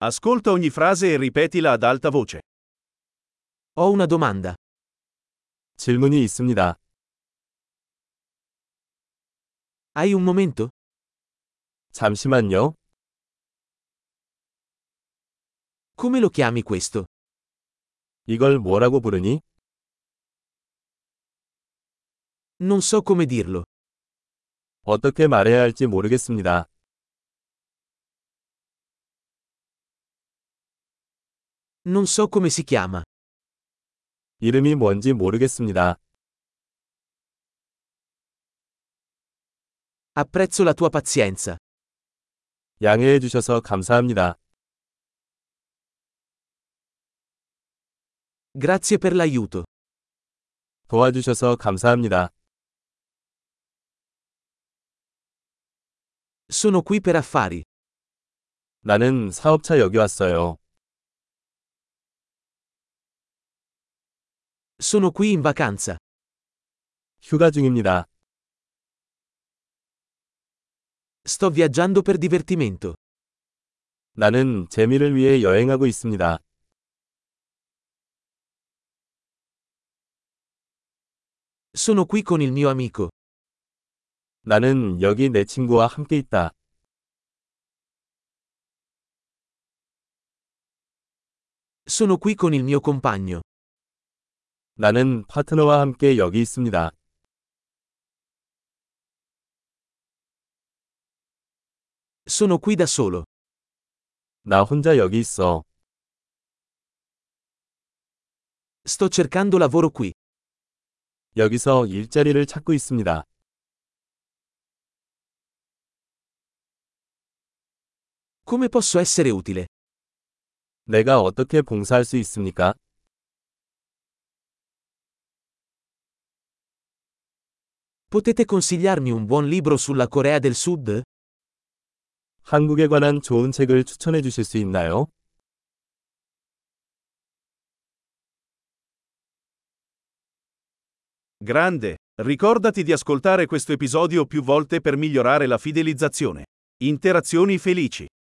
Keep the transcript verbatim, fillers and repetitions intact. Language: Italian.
Ascolta ogni frase e ripetila ad alta voce. Ho una domanda. 질문이 있습니다. Hai un momento? 잠시만요. Come lo chiami questo? 이걸 뭐라고 부르니? Non so come dirlo. 어떻게 말해야 할지 모르겠습니다. Non so come si chiama. 이름이 뭔지 모르겠습니다. Apprezzo la tua pazienza. 양해해 주셔서 감사합니다. Grazie per l'aiuto. 도와주셔서 감사합니다. Sono qui per affari. 나는 사업차 여기 왔어요. Sono qui in vacanza. 휴가 중입니다. Sto viaggiando per divertimento. 나는 재미를 위해 여행하고 있습니다. Sono qui con il mio amico. 나는 여기 내 친구와 함께 있다. Sono qui con il mio compagno. 나는 파트너와 함께 여기 있습니다. Sono qui da solo. 나 혼자 여기 있어. Sto cercando lavoro qui. 여기서 일자리를 찾고 있습니다. Come posso essere utile? 내가 어떻게 봉사할 수 있습니까? Potete consigliarmi un buon libro sulla Corea del Sud? 한국에 관한 좋은 책을 추천해 주실 수 있나요? Grande! Ricordati di ascoltare questo episodio più volte per migliorare la fidelizzazione. Interazioni felici.